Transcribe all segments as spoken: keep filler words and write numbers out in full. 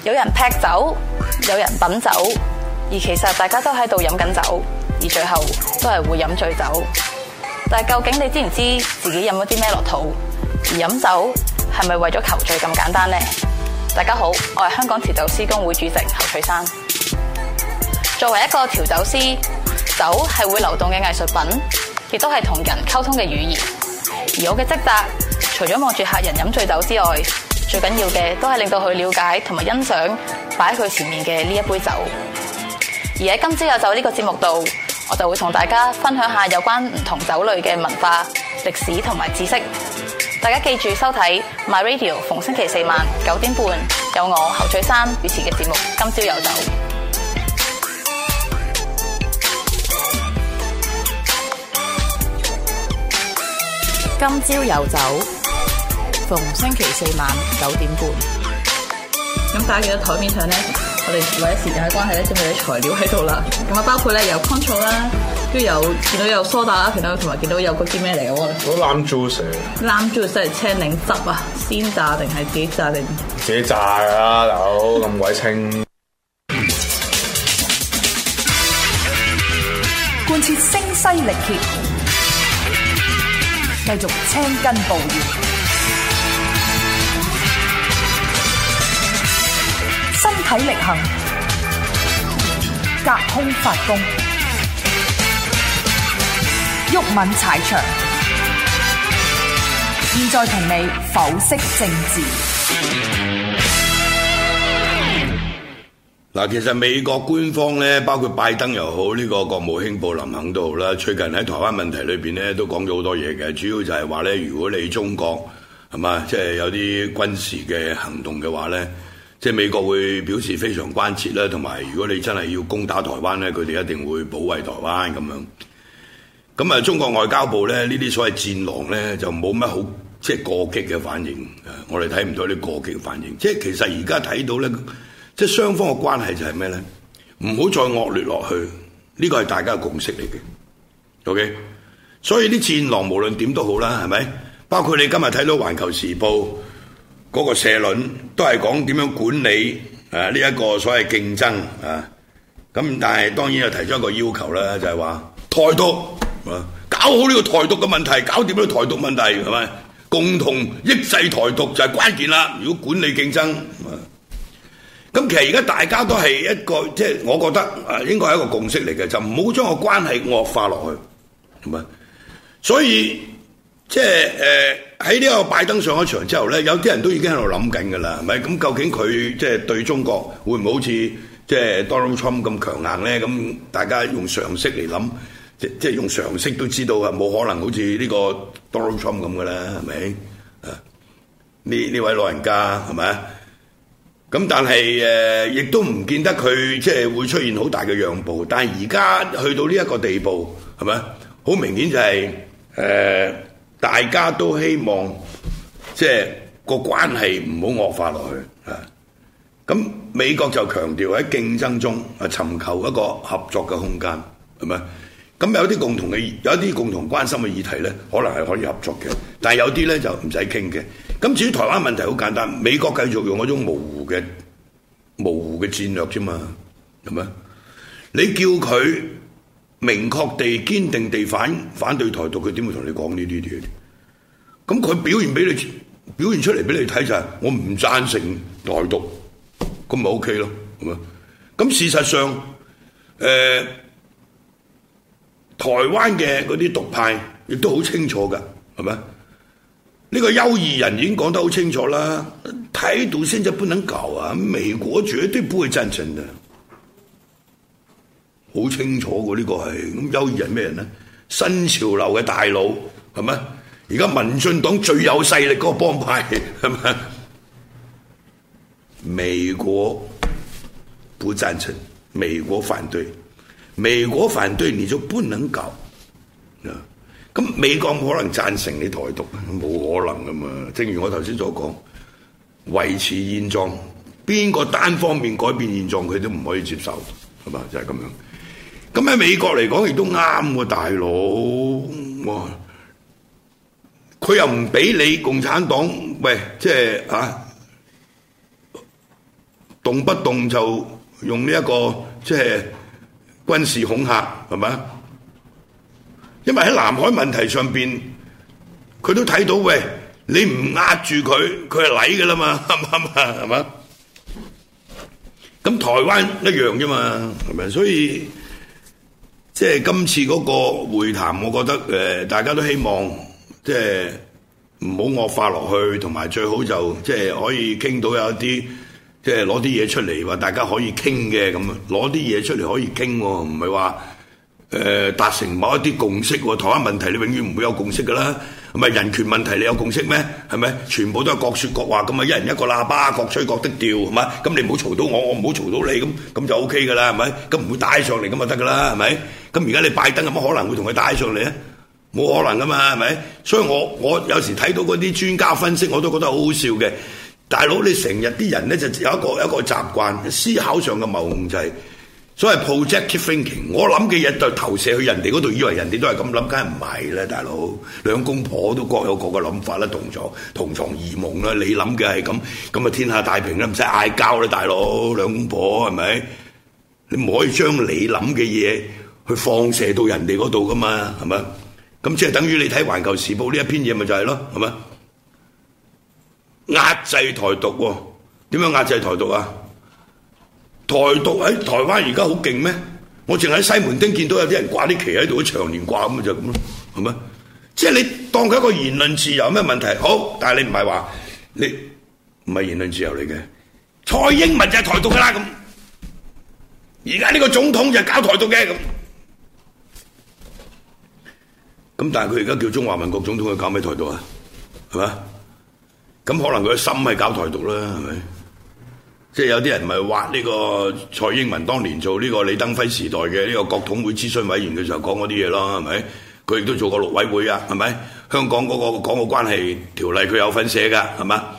有人劈酒，有人品酒，而其實大家都喺度飲緊酒，而最後都係會飲醉酒。但係究竟你知唔知自己飲咗啲咩落肚？而飲酒係咪為咗求醉咁簡單呢？大家好，我係香港調酒師公會主席侯翠珊。作為一個調酒師，酒係會流動嘅藝術品，亦都係同人溝通嘅語言。而我嘅職責，除咗望住客人飲醉酒之外，最緊要嘅都係令到佢了解同埋欣賞擺喺佢前面嘅呢一杯酒。而喺今朝有酒呢個節目度，我就會同大家分享下有關唔同酒類嘅文化、歷史同埋知識。大家記住收睇 My Radio， 逢星期四晚九點半有我侯翠珊主持嘅節目《今朝有酒》。今朝有酒，逢星期四晚九點半。咁大家記得台面上咧，我哋為咗時間嘅關係咧，準備啲材料喺度啦。咁啊，包括咧有 control 啦，跟住有見到有梳打啦，見到同埋見到有嗰啲咩嚟嘅喎？ 嗰 lime juice。lime juice 即係青檸汁啊，鮮榨定係自己榨定？ 自己榨㗎啦，大佬咁鬼清。 貫徹聲嘶力竭，繼續青筋暴現，身體力行，隔空發功，毓民踩場。現在同你剖析政治。 嗱，其實美國官方咧，包括拜登又好，呢個國務卿布林肯都好啦，最近喺台灣問題裏邊咧，都講咗好多嘢嘅。主要就係話咧，如果你中國係嘛，即係有啲軍事嘅行動嘅話咧，即係美國會表示非常關切啦，同埋如果你真係要攻打台灣咧，佢哋一定會保衛台灣咁樣。咁啊，中國外交部咧，呢啲所謂戰狼咧，就冇乜好即係過激嘅反應。我哋睇唔到啲過激嘅反應。即係其實而家睇到咧。即係雙方嘅關係就係咩咧？唔好再惡劣落去，呢個係大家嘅共識嚟嘅。OK， 所以啲戰狼無論點都好啦，係咪？包括你今日睇到《環球時報》嗰個社論，都係講點樣管理誒呢一個所謂競爭啊。咁但係當然又提出一個要求啦，就係話台獨啊，搞好呢個台獨嘅問題，搞掂呢個台獨問題係咪？共同抑制台獨就係關鍵啦。如果管理競爭。咁其實而家大家都係一個，即係我覺得啊，應該係一個共識嚟嘅，就唔好將個關係惡化落去，係咪？所以即係誒喺呢個拜登上咗場之後咧，有啲人都已經喺度諗緊㗎啦，係咪？咁究竟佢即係對中國會唔會好似即係 Donald Trump 咁強硬咧？咁大家用常識嚟諗，即即係用常識都知道啊，冇可能好似呢個 Donald Trump 咁㗎啦，係咪？啊，呢呢位老人家係咪？咁但係誒，亦都唔見得佢即係會出現好大嘅讓步。但係而家去到呢一個地步，係咪？好明顯就係、是、誒、呃，大家都希望即係個關係唔好惡化落去啊。咁美國就強調喺競爭中啊，尋求一個合作嘅空間，係咪？咁有啲共同嘅，有一啲共同關心嘅議題咧，可能係可以合作嘅。但係有啲咧就唔使傾嘅。咁至於台灣問題好簡單，美國繼續用嗰種模糊嘅模糊嘅戰略啫嘛，係咪？你叫佢明確地、堅定地反反對台獨，佢點會同你講呢啲嘢？咁佢表現俾你表現出嚟俾你睇就係我唔贊成台獨，咁咪 OK 咯，係咪？咁事實上，誒、呃、台灣嘅嗰啲獨派亦都好清楚㗎，係咪？呢個邱義仁已經講得好清楚啦，台獨現在不能搞啊，美國絕對不會贊成嘅，好清楚嘅呢個係。咁邱義仁咩人呢？新潮流嘅大佬係咪？而家民進黨最有勢力嗰個幫派係咪？美國不贊成，美國反對，美國反對你就不能搞啊！咁美國冇可能贊成你台獨，冇可能噶嘛。正如我頭先所講，維持現狀，邊個單方面改變現狀，佢都唔可以接受，係嘛？就係咁樣。咁喺美國嚟講，亦都啱喎，大佬。哇！佢又唔俾你共產黨，喂，即係啊， 動不動就用呢、這、一個即係軍事恐嚇，係咪？因為喺南海問題上邊，佢都睇到喂，你唔壓住佢，佢係嚟㗎啦嘛，啱唔啱啊？係嘛？咁台灣一樣啫嘛，係咪？所以即係今次嗰個會談，我覺得誒、呃，大家都希望即係唔好惡化落去，同埋最好就即係可以傾到有一啲。即係攞啲嘢出嚟話大家可以傾嘅咁啊，攞啲嘢出嚟可以傾喎，唔係話誒達成某一啲共識喎。台灣問題你永遠唔會有共識㗎啦，係咪人權問題你有共識咩？係咪全部都係各説各話咁啊？一人一個喇叭，各吹各的調係嘛？咁你唔好嘈到我，我唔好嘈到你，咁咁就 O K 㗎啦，係咪？咁唔會帶上嚟咁就得㗎啦，係咪？咁而家你拜登有乜可能會同佢帶上嚟啊？冇可能㗎嘛，係咪？所以我我有時睇到嗰啲專家分析，我都覺得好好笑嘅。大佬，你成日啲人咧就有一個有一個習慣，思考上嘅謬誤就係所謂 projective thinking。我諗嘅嘢就投射去人哋嗰度，以為人哋都係咁諗，梗係唔係啦，大佬。兩公婆都各有各嘅諗法啦，同床同床異夢啦。你諗嘅係咁，咁啊天下太平啦，唔使嗌交啦，大佬。兩公婆係咪？你唔可以將你諗嘅嘢去放射到人哋嗰度噶嘛，係咪？咁即係等於你睇《環球時報》呢一篇嘢，咪就係咯，係咪？壓制台獨喎，點樣壓制台獨啊？台獨喺台灣而家好勁咩？我淨喺西門町見到有啲人掛啲旗喺度，長年掛咁就咁咯，係咪？即係你當佢一個言論自由有咩問題？好，但係你唔係話你唔係言論自由嚟嘅。蔡英文就係台獨㗎啦咁，而家呢個總統就係搞台獨嘅咁。咁但係佢而家叫中華民國總統，佢搞咩台獨啊？係咪？咁可能佢嘅心係搞台獨啦，係咪？即係有啲人咪挖呢個蔡英文當年做呢個李登輝時代嘅呢個國統會諮詢委員嘅時候講嗰啲嘢咯，係咪？佢亦都做過陸委會啊，係咪？香港嗰個港澳關係條例佢有份寫㗎，係嘛？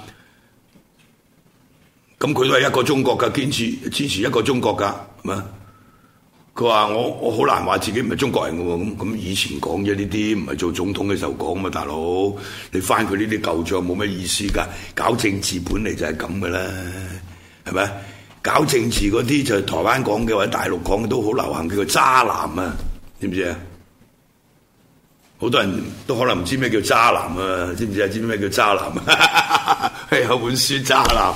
咁佢都係一個中國㗎，堅持支持一個中國㗎，係嘛？佢話我我好難話自己唔係中國人嘅喎，咁咁以前講嘅呢啲唔係做總統嘅時候講嘛，大佬你翻佢呢啲舊帳冇乜意思㗎，搞政治本嚟就係咁嘅啦，係咪？搞政治嗰啲就係台灣講嘅或者大陸講嘅都好流行，叫做渣男啊，知唔知啊？好多人都可能唔知咩叫渣男啊，知唔知啊？知唔知咩叫渣男啊？有本書渣男。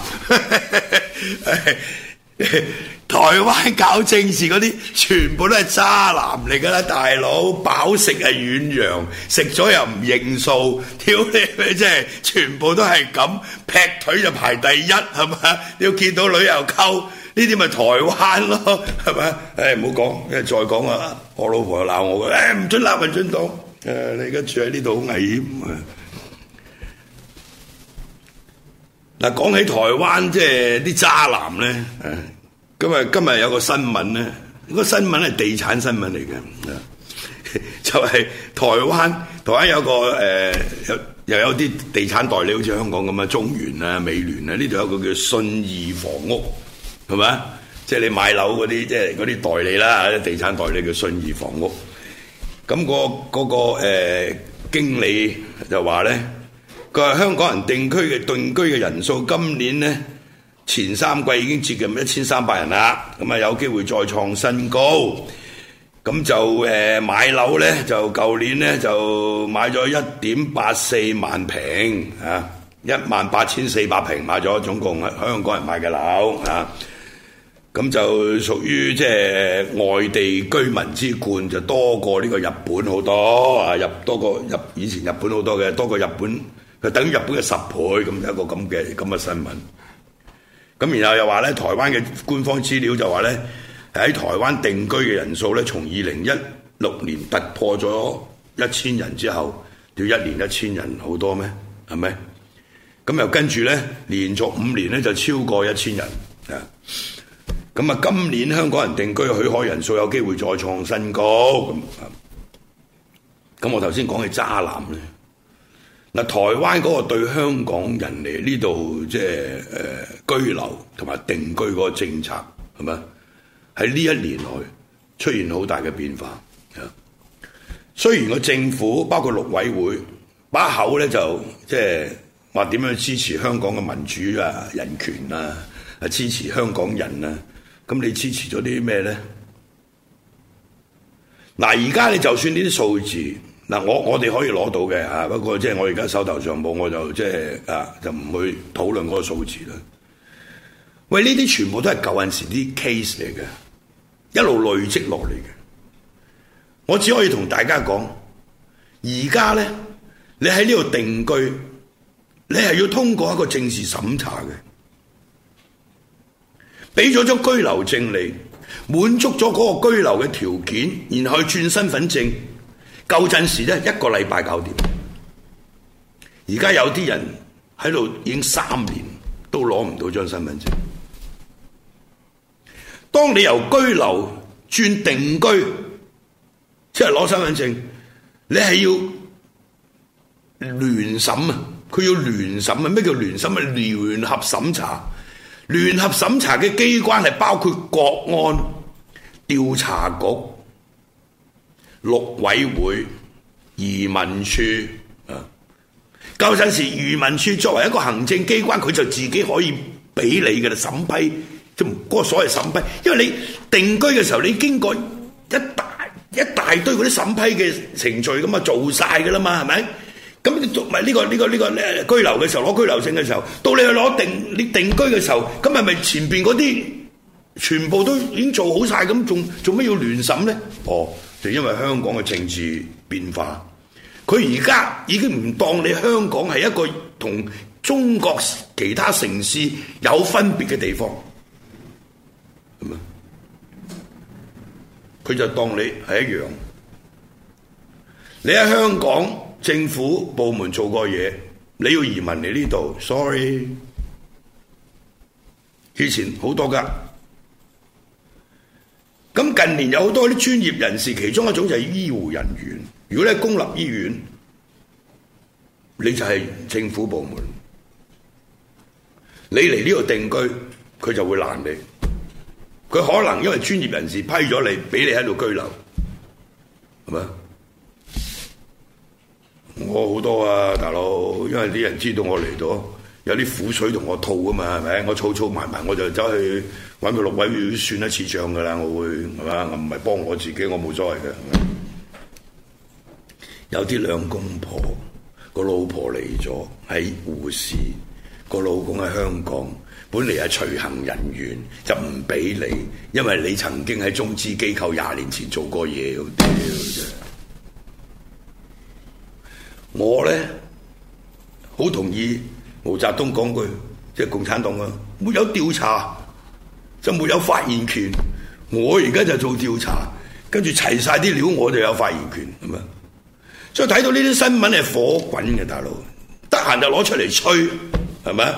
台灣搞政治嗰啲全部都係渣男嚟㗎啦，大佬飽食係遠洋，食咗又唔認數，屌你咩即係全部都係咁，劈腿就排第一係嘛？你要見到女又溝，呢啲咪台灣咯係咪？誒唔好講，因為再講啊，我老婆又鬧我嘅，誒唔准鬧民進黨，誒你而家住喺呢度好危險啊！嗱，講起台灣即係啲渣男咧，誒。咁啊！今日有個新聞咧，個新聞係地產新聞嚟嘅，就係、是、台灣台灣有個誒、呃、有又有啲地產代理，好似香港咁啊，中原啊、美聯啊，呢度有個叫信義房屋，係咪？即係你買樓嗰啲，即係嗰啲代理啦，地產代理叫信義房屋。咁、那個嗰、那個誒、呃、經理就話咧，佢話香港人定居嘅定居嘅人數今年咧，前三季已經接近一千三百人啦，咁啊有機會再創新高。咁就誒、呃、買樓咧，就舊年咧就買咗一點八四萬平啊，一萬八千四百平買咗，總共香港人買嘅樓啊。咁就屬於即係外地居民之冠，就多過呢個日本好多啊，入多過入以前日本好多嘅，多過日本，就等於日本嘅十倍咁，一個咁嘅咁嘅新聞。咁然後又話咧，台灣嘅官方資料就話咧，喺台灣定居嘅人數咧，從二零一六年突破咗一千人之後，要一年一千人好多咩？係咪？咁又跟住咧，連續五年咧就超過一千人啊！咁啊，今年香港人定居嘅許可人數有機會再創新高。咁咁我頭先講嘅渣男咧。嗱，台灣嗰個對香港人嚟呢度即係誒居留同埋定居嗰個政策係咪？喺呢一年內出現好大嘅變化。雖然個政府包括陸委會把口咧就即係話點樣支持香港嘅民主啊、人權啊，啊支持香港人啊，咁你支持咗啲咩咧？嗱，而家你就算呢啲數字，嗱我我哋可以攞到嘅嚇，不過即係我而家手頭上冇，我就即係啊就唔去討論嗰個數字啦。喂，呢啲全部都係舊陣時啲 case 嚟嘅，一路累積落嚟嘅。我只可以同大家講，而家咧，你喺呢度定居，你係要通過一個政治審查嘅，俾咗張居留證你，滿足咗嗰個居留嘅條件，然後去轉身份證。舊陣時咧，一個禮拜搞掂。而家有啲人喺度已經三年都攞唔到張身份證。當你由居留轉定居，即係攞身份證，你係要聯審啊！佢要聯審啊！咩叫聯審啊？聯合審查。聯合審查嘅機關係包括國安、調查局、陸委會、移民處啊。舊陣時，移民處作為一個行政機關，佢就自己可以俾你嘅啦，審批。即係嗰個所謂審批，因為你定居嘅時候，你經過一大一大堆嗰啲審批嘅程序咁啊，做晒㗎啦嘛，係咪？咁你做埋呢個呢個呢個咧居留嘅時候，攞居留證嘅時候，到你去攞定你定居嘅時候，咁係咪前邊嗰啲全部都已經做好晒咁，仲做咩要聯審咧？哦，就因為香港嘅政治變化，佢而家已經唔當你香港係一個同中國其他城市有分別嘅地方。佢就當你係一樣，你喺香港政府部門做過嘢，你要移民嚟呢度 ，sorry， 以前好多㗎。咁近年有好多啲專業人士，其中一種就係醫護人員。如果你係公立醫院，你就係政府部門，你嚟呢度定居，佢就會攔你。佢可能因為專業人士批咗你，俾你喺度居留，係咪？我好多啊，大佬，因為啲人知道我嚟到，有啲苦水同我吐啊嘛，係咪？我儲儲埋埋，我就走去揾佢陸委會算一次賬㗎啦，我會係嘛？我唔係幫我自己，我冇所謂嘅。有啲兩公婆個老婆嚟咗，係護士，個老公喺香港。本嚟係隨行人員，就唔俾你，因為你曾經喺中資機構廿年前做過嘢。我咧好同意毛澤東講句，即係共產黨啊，沒有調查就沒有發言權。我而家就做調查，跟住齊晒啲料，我就有發言權，係咪？所以睇到呢啲新聞係火滾嘅，大佬，得閒就攞出嚟吹，係咪？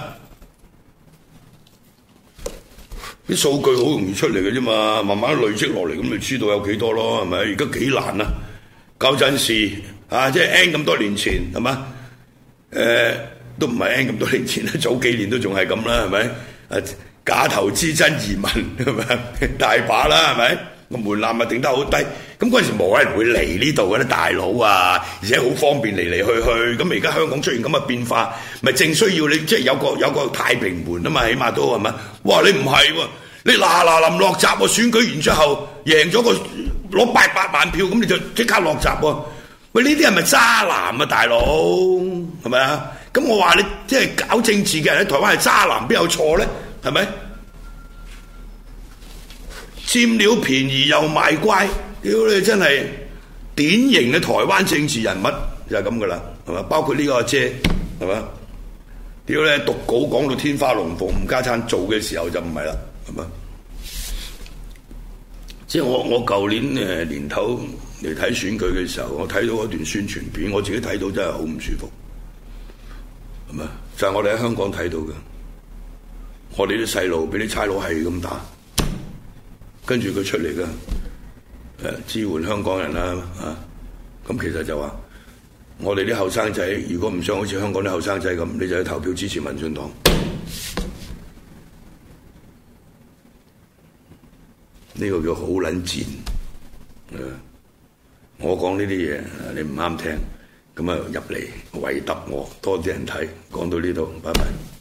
啲數據好容易出嚟嘅啫嘛，慢慢累積落嚟，咁你知道有幾多咯，係咪？而家幾難啊！舊陣時啊，即係 N 咁多年前，係嘛？誒、呃，都唔係 N 咁多年前啦，早幾年都仲係咁啦，係咪？誒，假投資真移民，係咪？大把啦，係咪？個門檻咪定得好低，咁嗰陣時冇人會嚟呢度嘅咧，大佬啊，而且好方便嚟嚟去去。咁而家香港出現咁嘅變化，咪正需要你即係有個有個太平門啊嘛，起碼都係咪？哇！你唔係喎，你嗱嗱臨落閘喎，選舉完之後贏咗個攞八百萬票，咁你就即刻落閘喎。喂，呢啲係咪渣男啊，大佬？係咪啊？咁我話你即係搞政治嘅人喺台灣係渣男，邊有錯咧？係咪？佔了便宜又賣乖，屌你真係典型嘅台灣政治人物就係咁噶啦，係嘛？包括呢個阿姐，係嘛？屌你讀稿講到天花龍鳳，吳家燦做嘅時候就唔係啦，係嘛？即係我我舊年誒年頭嚟睇選舉嘅時候，我睇到嗰段宣傳片，我自己睇到真係好唔舒服，係嘛？就係我哋喺香港睇到嘅，我哋啲細路俾啲差佬係咁打。跟住佢出嚟嘅，誒支援香港人啦，啊，咁其實就話，我哋啲後生仔如果唔想好似香港啲後生仔咁，你就去投票支持民進黨。呢個叫好撚賤，誒，我講呢啲嘢你唔啱聽， 咁啊入嚟圍揼我，多啲人睇。講到呢度，拜拜。